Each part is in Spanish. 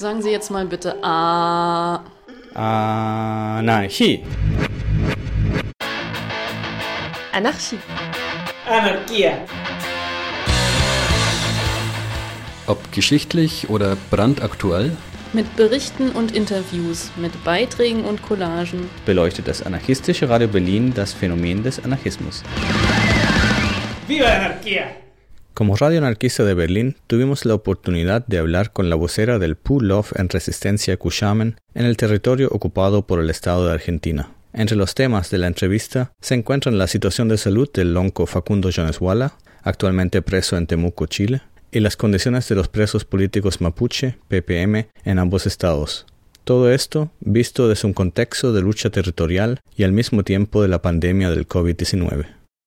Sagen Sie jetzt mal bitte Anarchie. Anarchie. Anarchia. Ob geschichtlich oder brandaktuell, mit Berichten und Interviews, mit Beiträgen und Collagen beleuchtet das anarchistische Radio Berlin das Phänomen des Anarchismus. ¡Viva la anarquía! Como Radio Anarquista de Berlín, tuvimos la oportunidad de hablar con la vocera del PULOF en Resistencia Cusamen en el territorio ocupado por el Estado de Argentina. Entre los temas de la entrevista se encuentran la situación de salud del lonco Facundo Jones Walla, actualmente preso en Temuco, Chile, y las condiciones de los presos políticos mapuche, PPM, en ambos estados. Todo esto visto desde un contexto de lucha territorial y al mismo tiempo de la pandemia del COVID-19.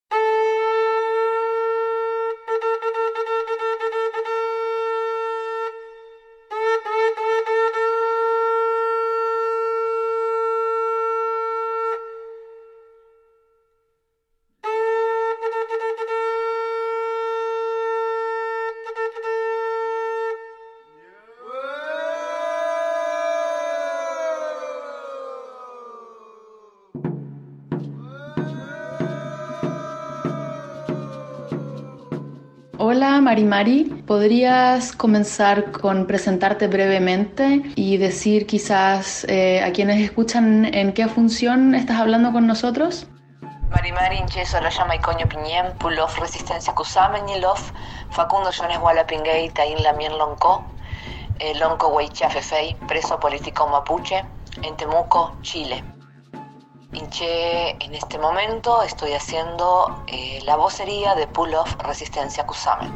Hola Mari, ¿podrías comenzar con presentarte brevemente y decir quizás a quienes escuchan en qué función estás hablando con nosotros? Mari Incheso la llama Icoño Piñén, Pulof Resistencia Cusamen y Lof, Facundo Jones Walla Pinguey, Taín Lamien Lonco, Lonco Huaychafefei, preso político mapuche, en Temuco, Chile. Inche, en este momento estoy haciendo la vocería de Pulof Resistencia Cusamen.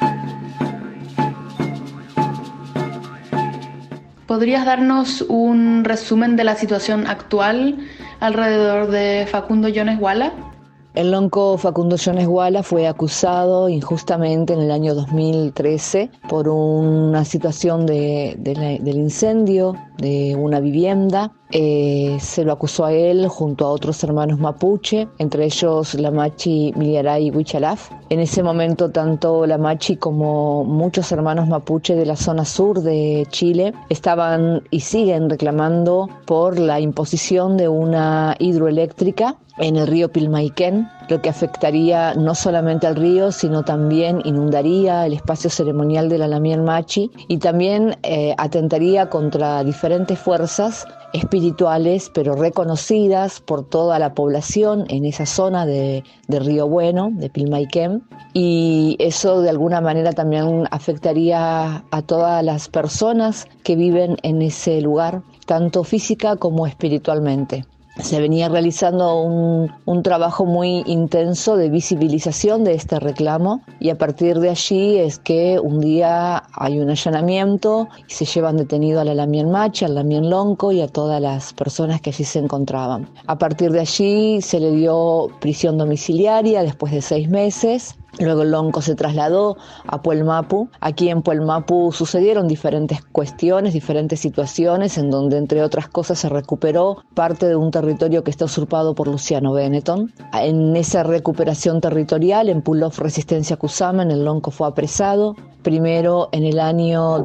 ¿Podrías darnos un resumen de la situación actual alrededor de Facundo Jones Walla? El lonco Facundo Jones Walla fue acusado injustamente en el año 2013 por una situación del incendio de una vivienda. Se lo acusó a él junto a otros hermanos mapuche, entre ellos la Machi Miliaray Huichalaf. En ese momento tanto la Machi como muchos hermanos mapuche de la zona sur de Chile estaban y siguen reclamando por la imposición de una hidroeléctrica en el río Pilmaiquén, lo que afectaría no solamente al río, sino también inundaría el espacio ceremonial de la Lamien Machi y también atentaría contra diferentes fuerzas espirituales, pero reconocidas por toda la población en esa zona de Río Bueno, de Pilmaiquén, y eso de alguna manera también afectaría a todas las personas que viven en ese lugar, tanto física como espiritualmente. Se venía realizando un trabajo muy intenso de visibilización de este reclamo y a partir de allí es que un día hay un allanamiento y se llevan detenido a la Lamien Machi, al Lamien Lonco y a todas las personas que allí se encontraban. A partir de allí se le dio prisión domiciliaria después de 6 meses. Luego el lonco se trasladó a Puelmapu. Aquí en Puelmapu sucedieron diferentes cuestiones, diferentes situaciones, en donde, entre otras cosas, se recuperó parte de un territorio que está usurpado por Luciano Benetton. En esa recuperación territorial, en Pulof Resistencia Cusamen, el lonco fue apresado. Primero, en el año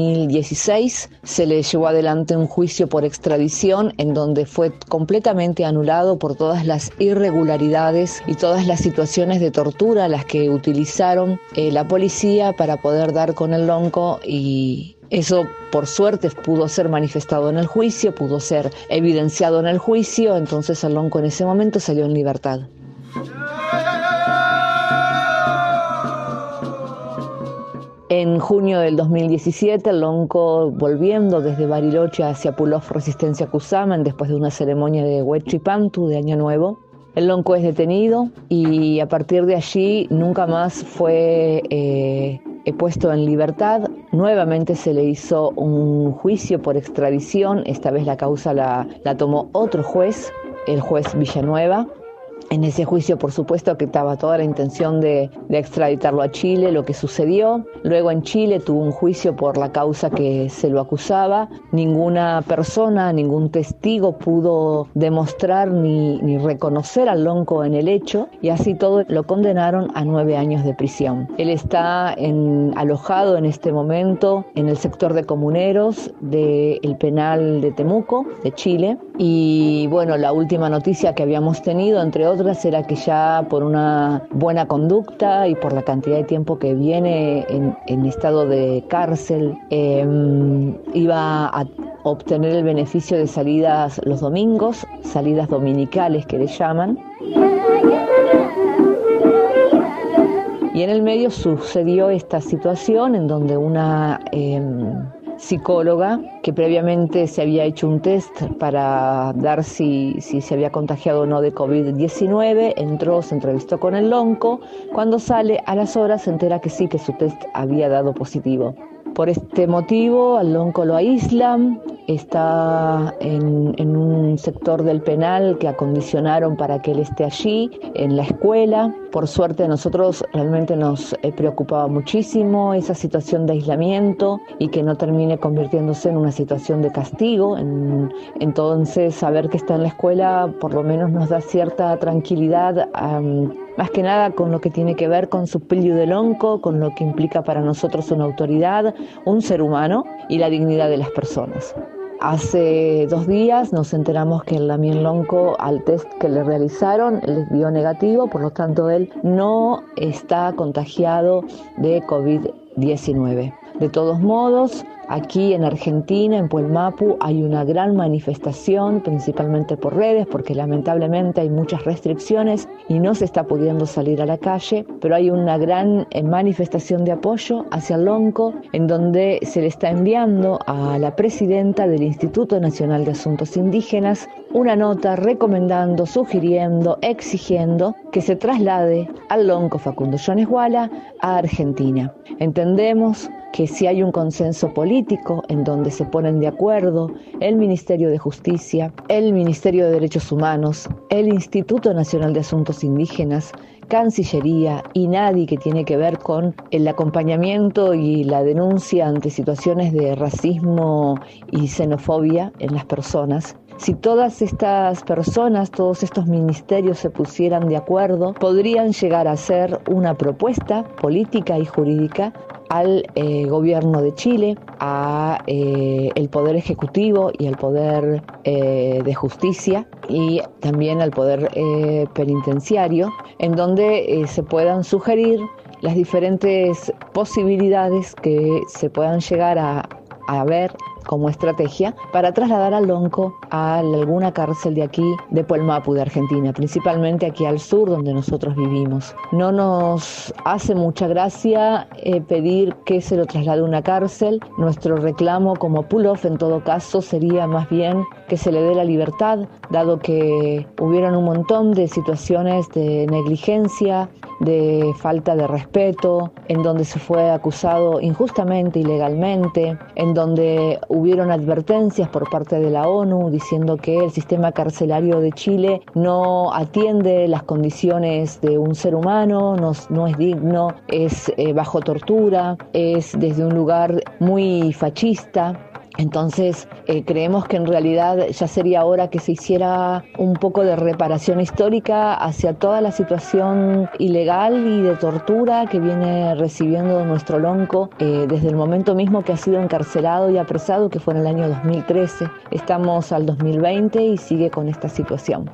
2016, se le llevó adelante un juicio por extradición en donde fue completamente anulado por todas las irregularidades y todas las situaciones de tortura a las que utilizaron la policía para poder dar con el lonco, y eso por suerte pudo ser manifestado en el juicio, pudo ser evidenciado en el juicio, entonces el lonco en ese momento salió en libertad. En junio del 2017, el lonco, volviendo desde Bariloche hacia Pulof Resistencia Cusamen, después de una ceremonia de Huaychipantu, de Año Nuevo, el lonco es detenido y a partir de allí nunca más fue puesto en libertad. Nuevamente se le hizo un juicio por extradición, esta vez la causa la tomó otro juez, el juez Villanueva. En ese juicio, por supuesto, que estaba toda la intención de extraditarlo a Chile, lo que sucedió. Luego en Chile tuvo un juicio por la causa que se lo acusaba. Ninguna persona, ningún testigo pudo demostrar ni reconocer al Lonco en el hecho, y así todo lo condenaron a 9 años de prisión. Él está alojado en este momento en el sector de comuneros del penal de Temuco, de Chile. Y bueno, la última noticia que habíamos tenido, entre otras, era que ya por una buena conducta y por la cantidad de tiempo que viene en estado de cárcel, iba a obtener el beneficio de salidas los domingos, salidas dominicales que le llaman. Y en el medio sucedió esta situación en donde una psicóloga que previamente se había hecho un test para dar si se había contagiado o no de COVID-19, entró, se entrevistó con el Lonco. Cuando sale, a las horas se entera que sí, que su test había dado positivo. Por este motivo, al Lonco lo aíslan, está en un sector del penal que acondicionaron para que él esté allí, en la escuela. Por suerte a nosotros realmente nos preocupaba muchísimo esa situación de aislamiento y que no termine convirtiéndose en una situación de castigo. Entonces, saber que está en la escuela por lo menos nos da cierta tranquilidad, más que nada con lo que tiene que ver con su pillo de Lonco, con lo que implica para nosotros una autoridad, un ser humano y la dignidad de las personas. Hace 2 días nos enteramos que el Damián Lonco, al test que le realizaron, les dio negativo, por lo tanto él no está contagiado de COVID-19. De todos modos, aquí en Argentina, en Puelmapu, hay una gran manifestación, principalmente por redes, porque lamentablemente hay muchas restricciones y no se está pudiendo salir a la calle, pero hay una gran manifestación de apoyo hacia el Lonco, en donde se le está enviando a la presidenta del Instituto Nacional de Asuntos Indígenas una nota recomendando, sugiriendo, exigiendo que se traslade al Lonco Facundo Jones Wala a Argentina. Entendemos que si hay un consenso político en donde se ponen de acuerdo el Ministerio de Justicia, el Ministerio de Derechos Humanos, el Instituto Nacional de Asuntos Indígenas, Cancillería y nadie que tiene que ver con el acompañamiento y la denuncia ante situaciones de racismo y xenofobia en las personas. Si todas estas personas, todos estos ministerios se pusieran de acuerdo, podrían llegar a hacer una propuesta política y jurídica al gobierno de Chile, a el Poder Ejecutivo y al Poder de Justicia y también al Poder Penitenciario, en donde se puedan sugerir las diferentes posibilidades que se puedan llegar a ver como estrategia para trasladar al Lonco a alguna cárcel de aquí, de Puelmapu, de Argentina, principalmente aquí al sur donde nosotros vivimos. No nos hace mucha gracia pedir que se lo traslade a una cárcel. Nuestro reclamo como pull-off en todo caso sería más bien que se le dé la libertad, dado que hubieron un montón de situaciones de negligencia, de falta de respeto, en donde se fue acusado injustamente, ilegalmente, en donde hubieron advertencias por parte de la ONU diciendo que el sistema carcelario de Chile no atiende las condiciones de un ser humano, no es digno, es bajo tortura, es desde un lugar muy fascista. Entonces creemos que en realidad ya sería hora que se hiciera un poco de reparación histórica hacia toda la situación ilegal y de tortura que viene recibiendo nuestro Lonco desde el momento mismo que ha sido encarcelado y apresado, que fue en el año 2013. Estamos al 2020 y sigue con esta situación.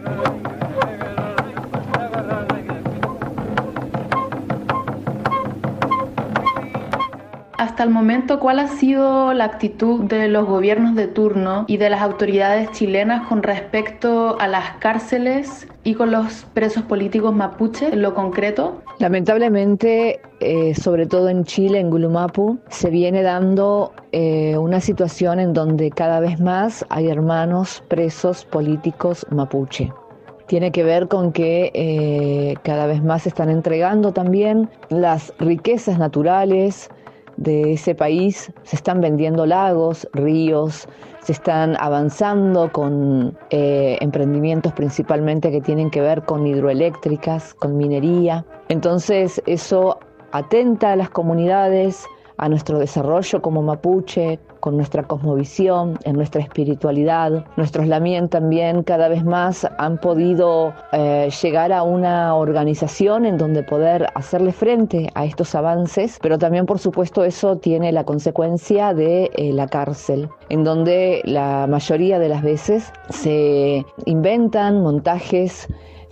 Hasta el momento, ¿cuál ha sido la actitud de los gobiernos de turno y de las autoridades chilenas con respecto a las cárceles y con los presos políticos mapuches en lo concreto? Lamentablemente, sobre todo en Chile, en Gulumapu, se viene dando una situación en donde cada vez más hay hermanos presos políticos mapuche. Tiene que ver con que cada vez más se están entregando también las riquezas naturales de ese país se están vendiendo lagos, ríos, se están avanzando con emprendimientos principalmente que tienen que ver con hidroeléctricas, con minería. Entonces eso atenta a las comunidades, a nuestro desarrollo como mapuche, con nuestra cosmovisión, en nuestra espiritualidad. Nuestros lamien también cada vez más han podido llegar a una organización en donde poder hacerle frente a estos avances, pero también por supuesto eso tiene la consecuencia de la cárcel, en donde la mayoría de las veces se inventan montajes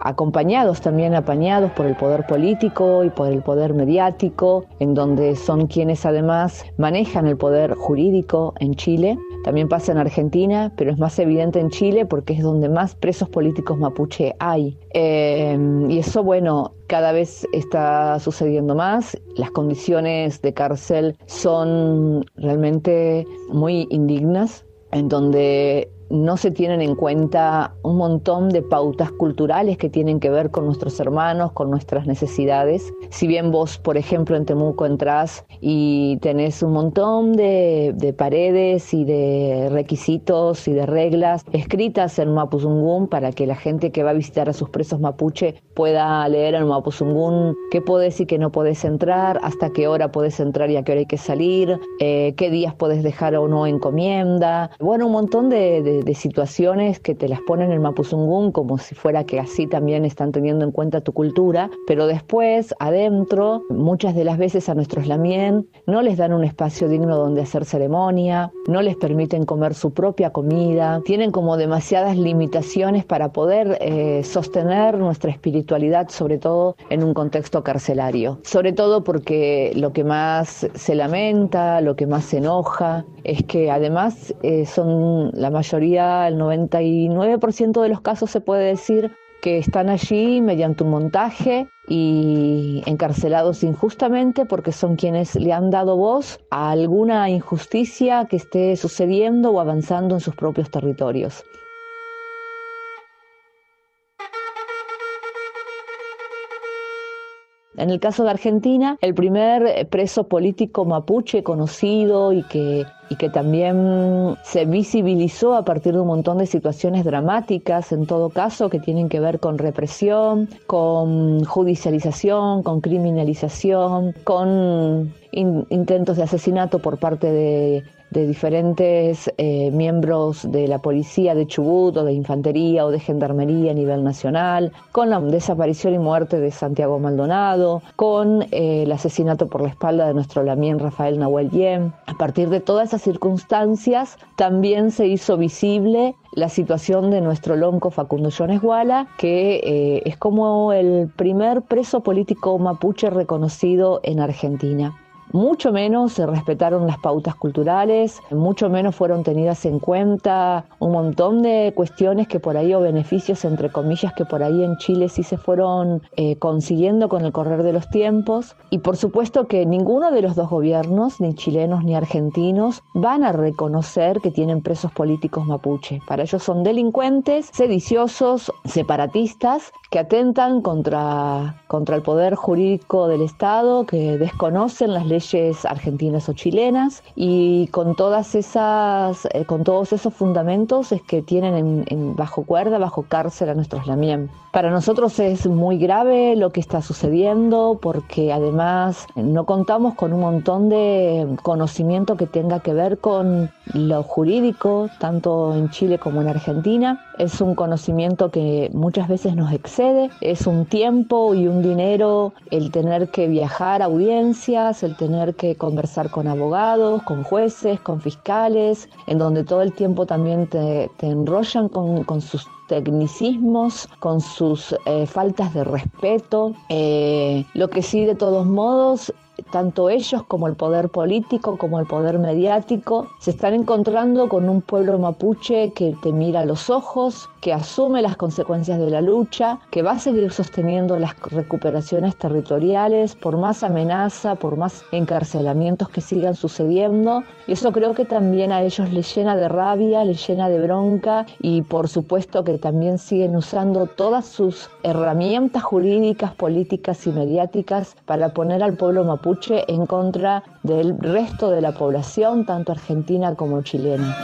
apañados por el poder político y por el poder mediático, en donde son quienes además manejan el poder jurídico en Chile. También pasa en Argentina, pero es más evidente en Chile porque es donde más presos políticos mapuche hay. Y eso, bueno, cada vez está sucediendo más. Las condiciones de cárcel son realmente muy indignas, en donde no se tienen en cuenta un montón de pautas culturales que tienen que ver con nuestros hermanos, con nuestras necesidades. Si bien vos, por ejemplo, en Temuco entrás y tenés un montón de paredes y de requisitos y de reglas escritas en mapuzungún para que la gente que va a visitar a sus presos mapuche pueda leer en mapuzungún qué podés y qué no podés entrar, hasta qué hora podés entrar y a qué hora hay que salir, qué días podés dejar o no encomienda. Bueno, un montón de situaciones que te las ponen en mapuzungún como si fuera que así también están teniendo en cuenta tu cultura, pero después adentro muchas de las veces a nuestros lamien no les dan un espacio digno donde hacer ceremonia, no les permiten comer su propia comida, tienen como demasiadas limitaciones para poder sostener nuestra espiritualidad, sobre todo en un contexto carcelario, sobre todo porque lo que más se lamenta, lo que más se enoja es que además son la mayoría, el 99% de los casos se puede decir que están allí mediante un montaje y encarcelados injustamente porque son quienes le han dado voz a alguna injusticia que esté sucediendo o avanzando en sus propios territorios. En el caso de Argentina, el primer preso político mapuche conocido y que también se visibilizó a partir de un montón de situaciones dramáticas, en todo caso, que tienen que ver con represión, con judicialización, con criminalización, con intentos de asesinato por parte de diferentes miembros de la policía de Chubut o de infantería o de gendarmería a nivel nacional, con la desaparición y muerte de Santiago Maldonado, con el asesinato por la espalda de nuestro lamien Rafael Nahuel Yem. A partir de todas esas circunstancias también se hizo visible la situación de nuestro lonco Facundo Jones Guala, que es como el primer preso político mapuche reconocido en Argentina. Mucho menos se respetaron las pautas culturales, mucho menos fueron tenidas en cuenta un montón de cuestiones que por ahí, o beneficios entre comillas, que por ahí en Chile sí se fueron consiguiendo con el correr de los tiempos. Y por supuesto que ninguno de los dos gobiernos, ni chilenos ni argentinos, van a reconocer que tienen presos políticos mapuche. Para ellos son delincuentes, sediciosos, separatistas, que atentan contra el poder jurídico del Estado, que desconocen las leyes argentinas o chilenas, y con todos esos fundamentos es que tienen bajo cuerda, bajo cárcel a nuestros lamien. Para nosotros es muy grave lo que está sucediendo porque además no contamos con un montón de conocimiento que tenga que ver con lo jurídico, tanto en Chile como en Argentina. Es un conocimiento que muchas veces nos excede, es un tiempo y un dinero el tener que viajar a audiencias, el tener que conversar con abogados, con jueces, con fiscales, en donde todo el tiempo también te enrollan con sus tecnicismos, con sus faltas de respeto. Lo que sí, de todos modos, tanto ellos como el poder político, como el poder mediático, se están encontrando con un pueblo mapuche que te mira a los ojos, que asume las consecuencias de la lucha, que va a seguir sosteniendo las recuperaciones territoriales por más amenaza, por más encarcelamientos que sigan sucediendo. Y eso creo que también a ellos les llena de rabia, les llena de bronca, y por supuesto que también siguen usando todas sus herramientas jurídicas, políticas y mediáticas para poner al pueblo mapuche mapuche en contra del resto de la población, tanto argentina como chilena.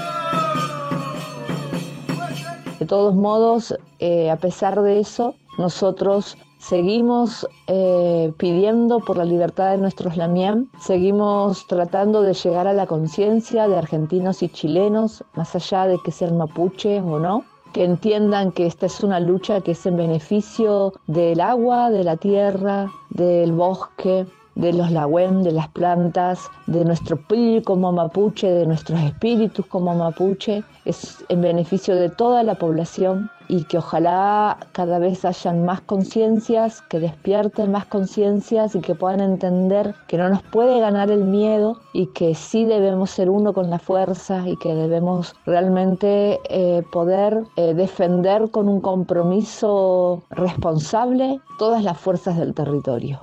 De todos modos, a pesar de eso, nosotros seguimos pidiendo por la libertad de nuestros lamien, seguimos tratando de llegar a la conciencia de argentinos y chilenos, más allá de que sean mapuches o no, que entiendan que esta es una lucha que es en beneficio del agua, de la tierra, del bosque, de los lagüem, de las plantas, de nuestro pil como mapuche, de nuestros espíritus como mapuche, es en beneficio de toda la población y que ojalá cada vez hayan más conciencias, que despierten más conciencias y que puedan entender que no nos puede ganar el miedo y que sí debemos ser uno con la fuerza y que debemos realmente poder defender con un compromiso responsable todas las fuerzas del territorio.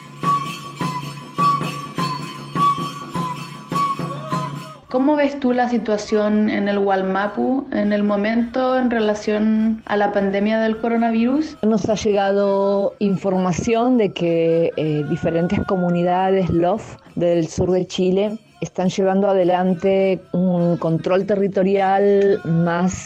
¿Cómo ves tú la situación en el Wallmapu en el momento en relación a la pandemia del coronavirus? Nos ha llegado información de que diferentes comunidades LOF del sur de Chile están llevando adelante un control territorial más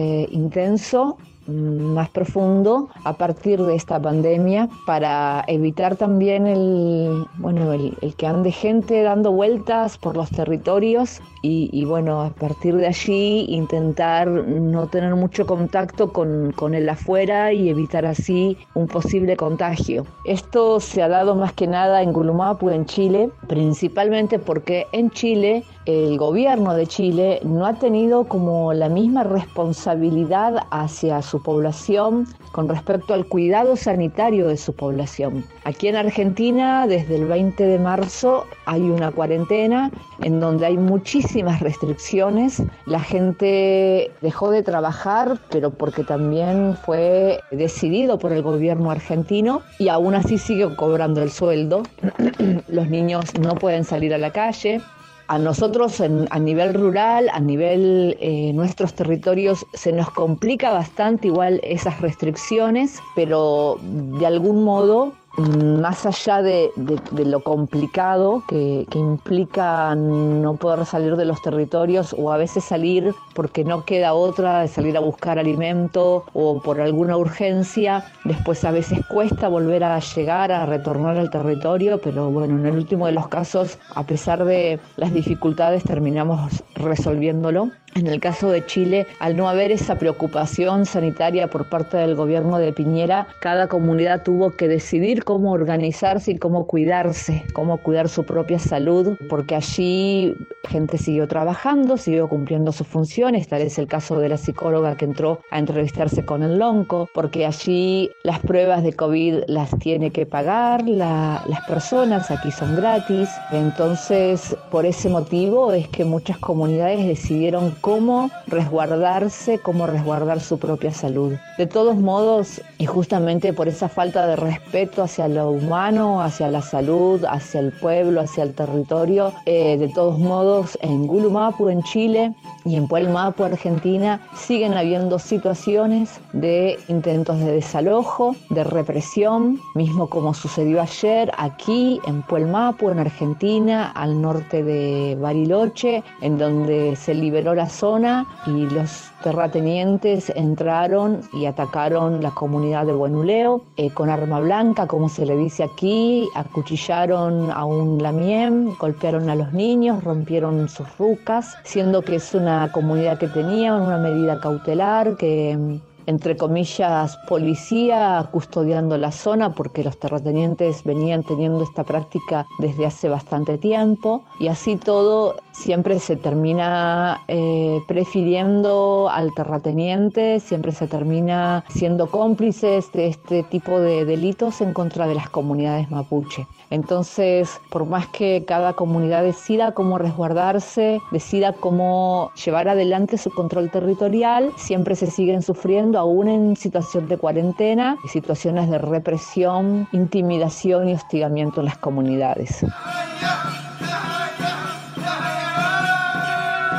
intenso, más profundo a partir de esta pandemia para evitar también el que ande gente dando vueltas por los territorios y bueno, a partir de allí intentar no tener mucho contacto con el afuera y evitar así un posible contagio. Esto se ha dado más que nada en Gulumapu, en Chile, principalmente porque en Chile el gobierno de Chile no ha tenido como la misma responsabilidad hacia su población con respecto al cuidado sanitario de su población. Aquí en Argentina, desde el 20 de marzo, hay una cuarentena en donde hay muchísimas restricciones. La gente dejó de trabajar, pero porque también fue decidido por el gobierno argentino y aún así sigue cobrando el sueldo. Los niños no pueden salir a la calle. A nosotros a nivel rural, a nivel nuestros territorios, se nos complica bastante igual esas restricciones, pero de algún modo, más allá de lo complicado que implica no poder salir de los territorios o a veces salir porque no queda otra de salir a buscar alimento o por alguna urgencia, después a veces cuesta volver a llegar, a retornar al territorio, pero bueno, en el último de los casos, a pesar de las dificultades, terminamos resolviéndolo. En el caso de Chile, al no haber esa preocupación sanitaria por parte del gobierno de Piñera, cada comunidad tuvo que decidir cómo organizarse y cómo cuidarse, cómo cuidar su propia salud, porque allí gente siguió trabajando, siguió cumpliendo sus funciones, tal es el caso de la psicóloga que entró a entrevistarse con el Lonco, porque allí las pruebas de COVID las tiene que pagar las personas, aquí son gratis. Entonces, por ese motivo es que muchas comunidades decidieron cómo resguardarse, cómo resguardar su propia salud. De todos modos, y justamente por esa falta de respeto hacia lo humano, hacia la salud, hacia el pueblo, hacia el territorio, de todos modos, en Gulumapu, en Chile, y en Puelmapu, Argentina, siguen habiendo situaciones de intentos de desalojo, de represión, mismo como sucedió ayer aquí en Puelmapu, en Argentina, al norte de Bariloche, en donde se liberó la zona y los terratenientes entraron y atacaron la comunidad de Buenuleo con arma blanca, como se le dice aquí, acuchillaron a un lamien, golpearon a los niños, rompieron sus rucas, siendo que es una comunidad que tenía una medida cautelar, que entre comillas, policía custodiando la zona porque los terratenientes venían teniendo esta práctica desde hace bastante tiempo y así todo siempre se termina prefiriendo al terrateniente, siempre se termina siendo cómplices de este tipo de delitos en contra de las comunidades mapuche. Entonces, por más que cada comunidad decida cómo resguardarse, decida cómo llevar adelante su control territorial, siempre se siguen sufriendo, aún en situación de cuarentena, situaciones de represión, intimidación y hostigamiento en las comunidades.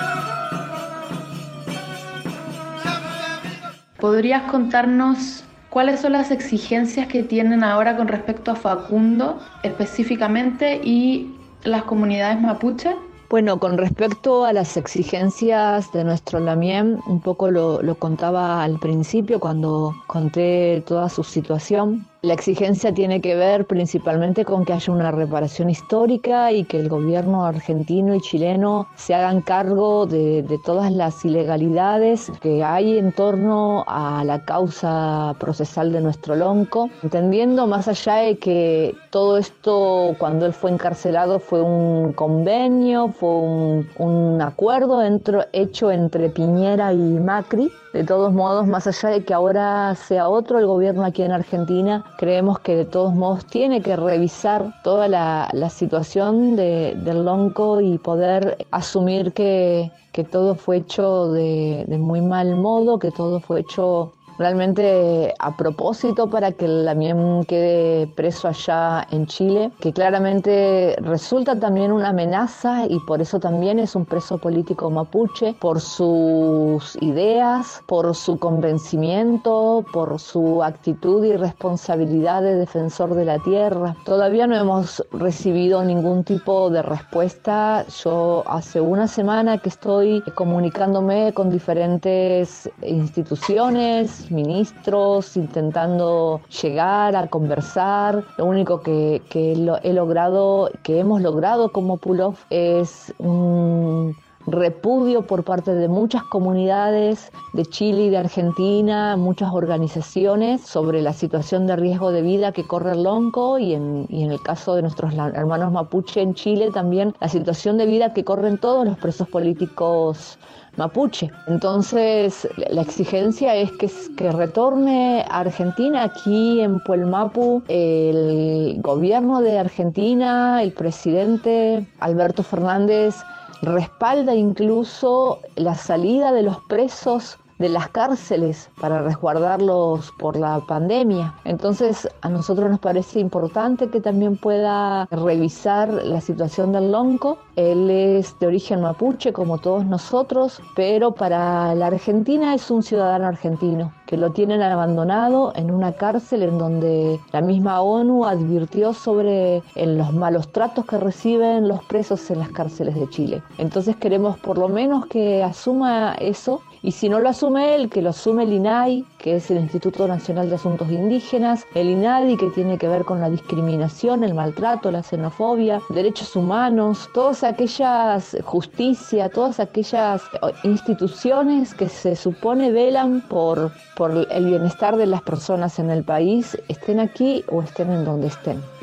¿Podrías contarnos ¿Cuáles son las exigencias que tienen ahora con respecto a Facundo específicamente y las comunidades mapuche? Bueno, con respecto a las exigencias de nuestro Lamiem, un poco lo contaba al principio cuando conté toda su situación. La exigencia tiene que ver principalmente con que haya una reparación histórica y que el gobierno argentino y chileno se hagan cargo de todas las ilegalidades que hay en torno a la causa procesal de nuestro lonco, entendiendo más allá de que todo esto cuando él fue encarcelado fue un convenio, fue un acuerdo hecho entre Piñera y Macri. De todos modos, más allá de que ahora sea otro el gobierno aquí en Argentina, creemos que de todos modos tiene que revisar toda la situación del lonco y poder asumir que todo fue hecho de muy mal modo, que todo fue hecho realmente a propósito para que el Lamiem quede preso allá en Chile, que claramente resulta también una amenaza y por eso también es un preso político mapuche, por sus ideas, por su convencimiento, por su actitud y responsabilidad de defensor de la tierra. Todavía no hemos recibido ningún tipo de respuesta. Yo hace una semana que estoy comunicándome con diferentes instituciones, ministros, intentando llegar a conversar. Lo único que hemos logrado como Pull-Off es un repudio por parte de muchas comunidades de Chile y de Argentina, muchas organizaciones sobre la situación de riesgo de vida que corre el lonco y en el caso de nuestros hermanos mapuche en Chile también la situación de vida que corren todos los presos políticos mapuche. Entonces la exigencia es que retorne a Argentina. Aquí en Puelmapu el gobierno de Argentina, el presidente Alberto Fernández respalda incluso la salida de los presos de las cárceles para resguardarlos por la pandemia. Entonces a nosotros nos parece importante que también pueda revisar la situación del lonco. Él es de origen mapuche como todos nosotros, pero para la Argentina es un ciudadano argentino que lo tienen abandonado en una cárcel en donde la misma ONU advirtió sobre los malos tratos que reciben los presos en las cárceles de Chile. Entonces queremos por lo menos que asuma eso. Y si no lo asume él, que lo asume el INAI, que es el Instituto Nacional de Asuntos Indígenas, el INADI, que tiene que ver con la discriminación, el maltrato, la xenofobia, derechos humanos, todas aquellas justicia, todas aquellas instituciones que se supone velan por el bienestar de las personas en el país, estén aquí o estén en donde estén.